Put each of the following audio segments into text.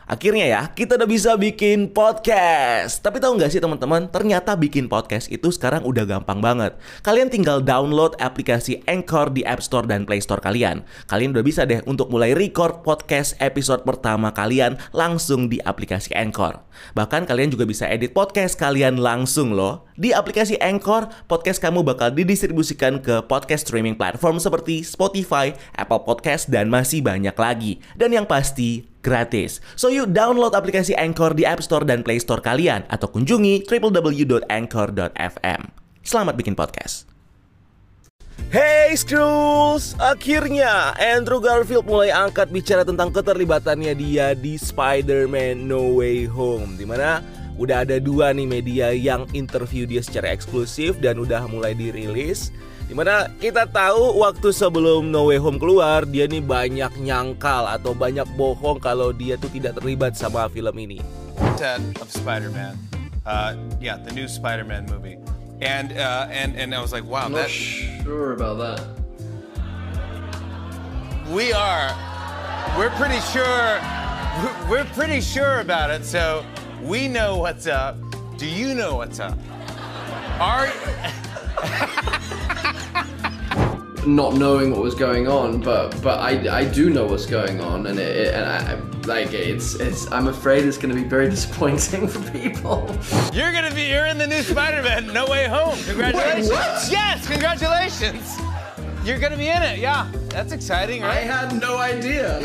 Akhirnya ya, kita udah bisa bikin podcast. Tapi tahu nggak sih teman-teman, ternyata bikin podcast itu sekarang udah gampang banget. Kalian tinggal download aplikasi Anchor di App Store dan Play Store kalian. Kalian udah bisa deh untuk mulai record podcast episode pertama kalian langsung di aplikasi Anchor. Bahkan kalian juga bisa edit podcast kalian langsung loh. Di aplikasi Anchor, podcast kamu bakal didistribusikan ke podcast streaming platform seperti Spotify, Apple Podcast, dan masih banyak lagi. Dan yang pasti, gratis. So you download aplikasi Anchor di App Store dan Play Store kalian atau kunjungi www.anchor.fm. Selamat bikin podcast. Hey Skrulls, akhirnya Andrew Garfield mulai angkat bicara tentang keterlibatannya dia di Spider-Man No Way Home, dimana udah ada 2 nih media yang interview dia secara eksklusif dan udah mulai dirilis. Dimana kita tahu waktu sebelum No Way Home keluar, dia nih banyak nyangkal atau banyak bohong kalau dia tuh tidak terlibat sama film ini. Set of Spider-Man, the new Spider-Man movie, and I was like, wow, I'm not sure about that. We're pretty sure about it. So we know what's up. Do you know what's up? Not knowing what was going on, but I do know what's going on, and I'm afraid it's going to be very disappointing for people. You're in the new Spider-Man No Way Home. Congratulations! Wait, what? Yes, congratulations! You're going to be in it. Yeah, that's exciting, right? I had no idea.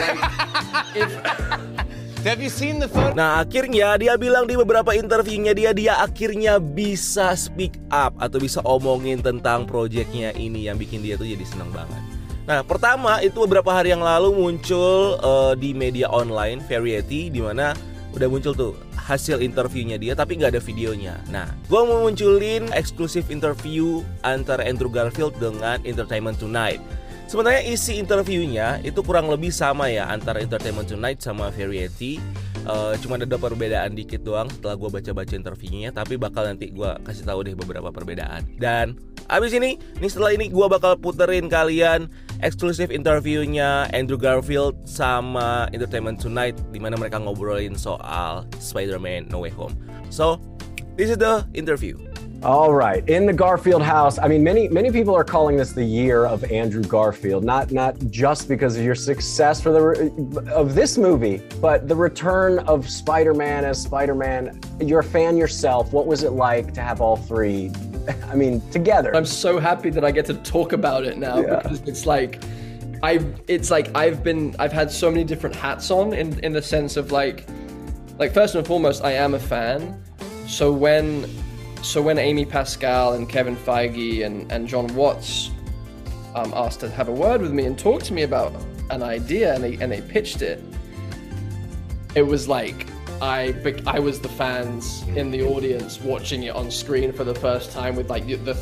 Have you seen the photo? Nah akhirnya dia bilang di beberapa interviewnya dia akhirnya bisa speak up atau bisa omongin tentang proyeknya ini yang bikin dia tuh jadi seneng banget. Nah pertama itu beberapa hari yang lalu muncul di media online Variety, dimana udah muncul tuh hasil interviewnya dia tapi gak ada videonya. Nah gue mau munculin eksklusif interview antara Andrew Garfield dengan Entertainment Tonight. Sebenarnya isi interviewnya itu kurang lebih sama ya antara Entertainment Tonight sama Variety. Cuma ada perbedaan dikit doang setelah gue baca-baca interviewnya, tapi bakal nanti gue kasih tahu deh beberapa perbedaan. Dan abis ini setelah ini gue bakal puterin kalian eksklusif interviewnya Andrew Garfield sama Entertainment Tonight, dimana mereka ngobrolin soal Spider-Man No Way Home. So, this is the interview. All right, in the Garfield house. I mean, many people are calling this the year of Andrew Garfield, not just because of your success of this movie, but the return of Spider-Man as Spider-Man. You're a fan yourself. What was it like to have all 3? I mean, together. I'm so happy that I get to talk about it now, because it's like I've had so many different hats on in the sense of like first and foremost, I am a fan. So when Amy Pascal and Kevin Feige and John Watts asked to have a word with me and talk to me about an idea, and they pitched it, it was like I was the fans in the audience watching it on screen for the first time with the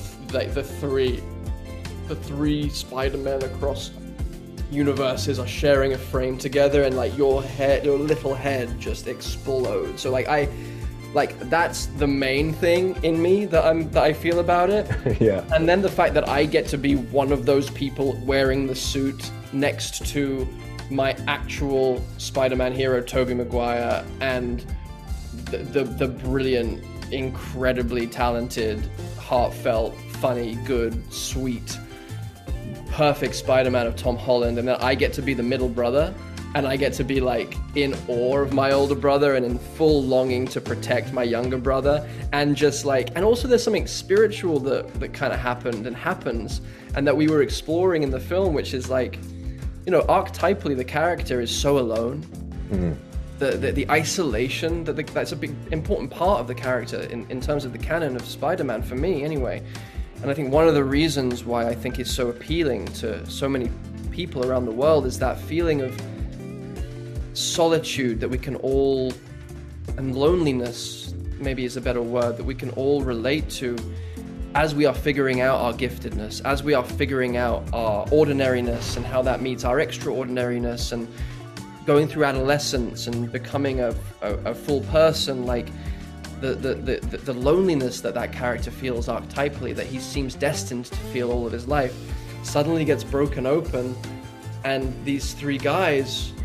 three Spider-Men across universes are sharing a frame together, and your little head just explodes. So that's the main thing in me that I feel about it. Yeah. And then the fact that I get to be one of those people wearing the suit next to my actual Spider-Man hero, Tobey Maguire, and the brilliant, incredibly talented, heartfelt, funny, good, sweet, perfect Spider-Man of Tom Holland, and then I get to be the middle brother. And I get to be in awe of my older brother and in full longing to protect my younger brother. And and also there's something spiritual that kind of happened and happens and that we were exploring in the film, which is archetypally the character is so alone. Mm-hmm. The isolation, that's a big important part of the character in terms of the canon of Spider-Man, for me anyway. And I think one of the reasons why I think it's so appealing to so many people around the world is that feeling of solitude that we can all, and loneliness maybe is a better word, that we can all relate to as we are figuring out our giftedness, as we are figuring out our ordinariness and how that meets our extraordinariness, and going through adolescence and becoming a full person. The loneliness that character feels archetypally, that he seems destined to feel all of his life, suddenly gets broken open, and these 3 guys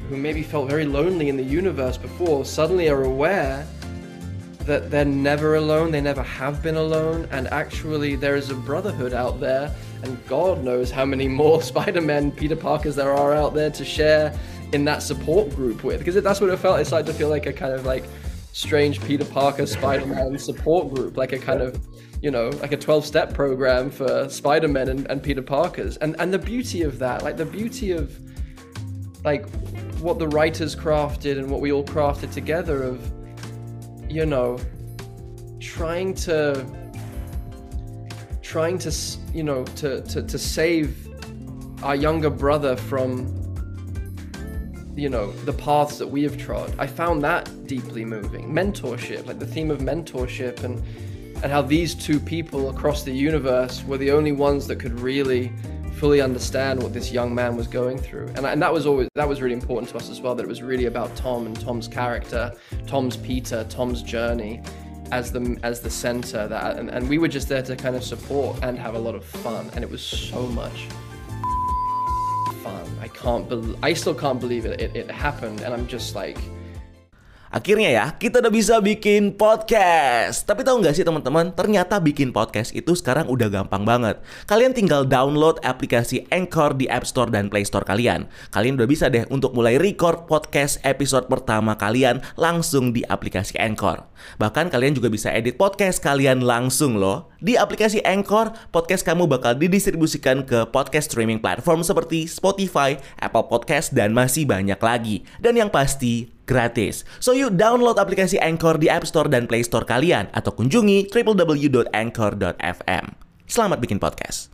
who maybe felt very lonely in the universe before suddenly are aware that they're never alone, they never have been alone, and actually there is a brotherhood out there, and God knows how many more Spider-Man Peter Parkers there are out there to share in that support group with, because that's what it felt. It started to feel like a kind of like strange Peter Parker Spider-Man support group, like a kind of, you know, like a 12-step program for Spider-Man and Peter Parkers. And the beauty of that, like the beauty of like what the writers crafted and what we all crafted together of, you know, trying to you know, to save our younger brother from, you know, the paths that we have trod. I found that deeply moving. Mentorship, like the theme of mentorship, and how these two people across the universe were the only ones that could really fully understand what this young man was going through. And that was really important to us as well, that it was really about Tom and Tom's character, Tom's Peter, Tom's journey as the center, that and we were just there to kind of support and have a lot of fun, and it was so much fun. I still can't believe it happened, and I'm just like, akhirnya ya, kita udah bisa bikin podcast. Tapi tahu nggak sih teman-teman, ternyata bikin podcast itu sekarang udah gampang banget. Kalian tinggal download aplikasi Anchor di App Store dan Play Store kalian. Kalian udah bisa deh untuk mulai record podcast episode pertama kalian langsung di aplikasi Anchor. Bahkan kalian juga bisa edit podcast kalian langsung loh. Di aplikasi Anchor, podcast kamu bakal didistribusikan ke podcast streaming platform seperti Spotify, Apple Podcast, dan masih banyak lagi. Dan yang pasti, gratis. So yuk download aplikasi Anchor di App Store dan Play Store kalian, atau kunjungi www.anchor.fm. Selamat bikin podcast.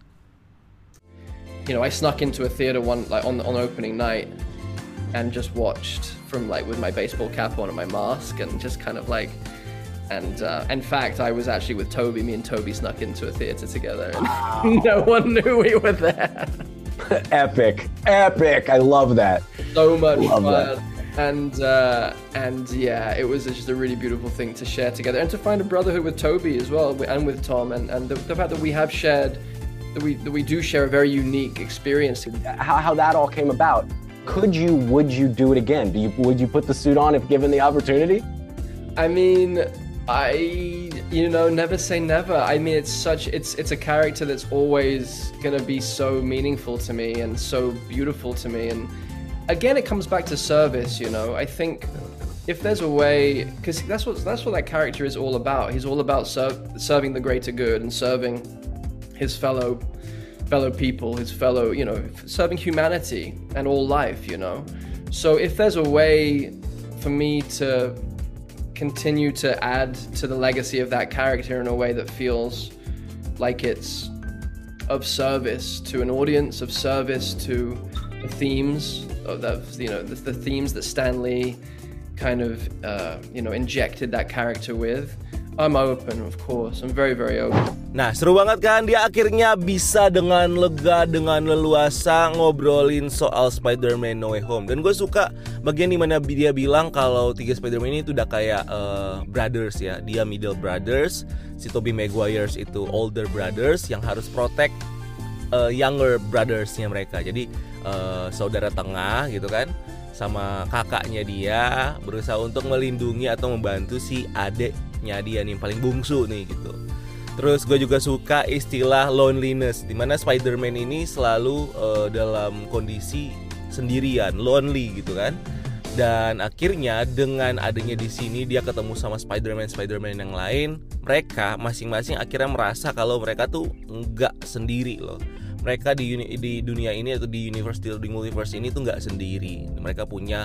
You know, I snuck into a theater on opening night and just watched from like with my baseball cap on and my mask and just kind of like, and in fact I was actually with Toby. Me and Toby snuck into a theater together and no one knew we were there. Epic. I love that. So much fun. And yeah, it was just a really beautiful thing to share together and to find a brotherhood with Toby as well, and with Tom, and the fact that we have shared, that we do share a very unique experience. How that all came about. Would you do it again? Would you put the suit on if given the opportunity? I mean, you know, never say never. I mean, it's a character that's always gonna be so meaningful to me and so beautiful to me. And again, it comes back to service, you know. I think if there's a way, because that's what that character is all about. He's all about serving the greater good and serving his fellow people, his fellow, you know, serving humanity and all life, you know. So if there's a way for me to continue to add to the legacy of that character in a way that feels like it's of service to an audience, of service to the themes of that, you know, the themes that Stan Lee kind of you know, injected that character with, I'm open, of course. I'm very, very open. Nah, seru banget kan? Dia akhirnya bisa dengan lega, dengan leluasa ngobrolin soal Spider-Man No Way Home. Dan gue suka bagian dimana dia bilang kalau tiga Spider-Man ini tuh udah kayak brothers ya. Dia middle brothers, si Tobey Maguire itu older brothers yang harus protect younger brothersnya mereka. Jadi saudara tengah gitu kan, sama kakaknya dia berusaha untuk melindungi atau membantu si adeknya dia nih, yang paling bungsu nih gitu. Terus gue juga suka istilah loneliness, dimana Spider-Man ini selalu dalam kondisi sendirian, lonely gitu kan. Dan akhirnya dengan adanya di sini dia ketemu sama Spider-Man yang lain, mereka masing-masing akhirnya merasa kalau mereka tuh enggak sendiri loh. Mereka di dunia ini atau di multiverse ini tuh nggak sendiri. Mereka punya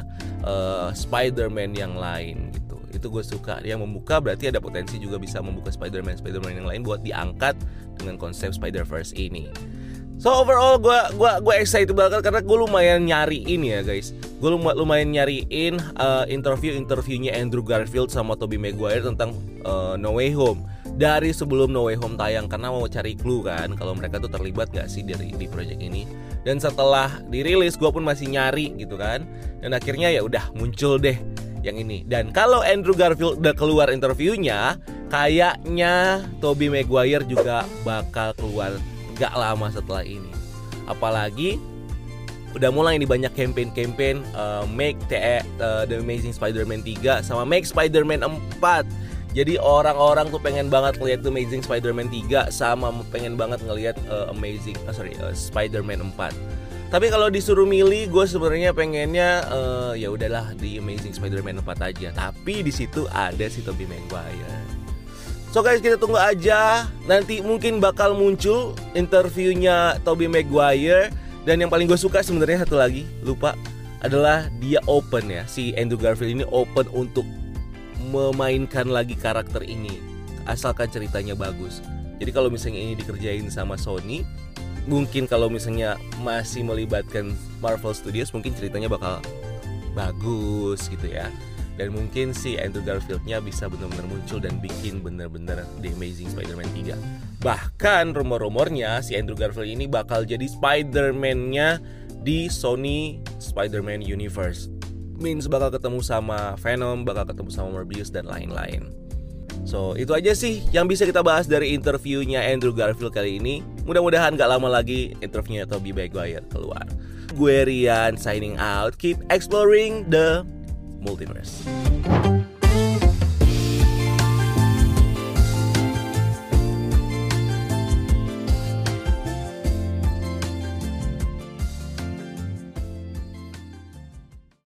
Spider-Man yang lain gitu. Itu gue suka. Dia membuka, berarti ada potensi juga bisa membuka Spider-Man yang lain buat diangkat dengan konsep Spider-Verse ini. So overall gue excited banget karena gue lumayan nyariin ya guys. Gue lumayan nyariin interviewnya Andrew Garfield sama Tobey Maguire tentang No Way Home dari sebelum No Way Home tayang, karena mau cari clue kan kalau mereka tuh terlibat gak sih di project ini. Dan setelah dirilis gue pun masih nyari gitu kan, dan akhirnya ya udah muncul deh yang ini. Dan kalau Andrew Garfield udah keluar interviewnya, kayaknya Tobey Maguire juga bakal keluar gak lama setelah ini. Apalagi udah mulai nih banyak campaign make The Amazing Spider-Man 3 sama make Spider-Man 4. Jadi orang-orang tuh pengen banget ngeliat The Amazing Spider-Man 3 sama pengen banget ngeliat Spider-Man 4. Tapi kalau disuruh milih, gue sebenarnya pengennya ya udahlah di Amazing Spider-Man 4 aja. Tapi di situ ada si Tobey Maguire. So guys, kita tunggu aja. Nanti mungkin bakal muncul interviewnya Tobey Maguire. Dan yang paling gue suka sebenarnya satu lagi, lupa, adalah dia open ya. Si Andrew Garfield ini open untuk memainkan lagi karakter ini, asalkan ceritanya bagus. Jadi kalau misalnya ini dikerjain sama Sony, mungkin kalau misalnya masih melibatkan Marvel Studios, mungkin ceritanya bakal bagus gitu ya. Dan mungkin si Andrew Garfield-nya bisa benar-benar muncul dan bikin benar-benar The Amazing Spider-Man 3. Bahkan rumor-rumornya si Andrew Garfield ini bakal jadi Spider-Man-nya di Sony Spider-Man Universe. Means bakal ketemu sama Venom, bakal ketemu sama Morbius dan lain-lain. So itu aja sih yang bisa kita bahas dari interviewnya Andrew Garfield kali ini. Mudah-mudahan gak lama lagi interviewnya Tobey Maguire keluar. Gue Rian signing out. Keep exploring the multiverse.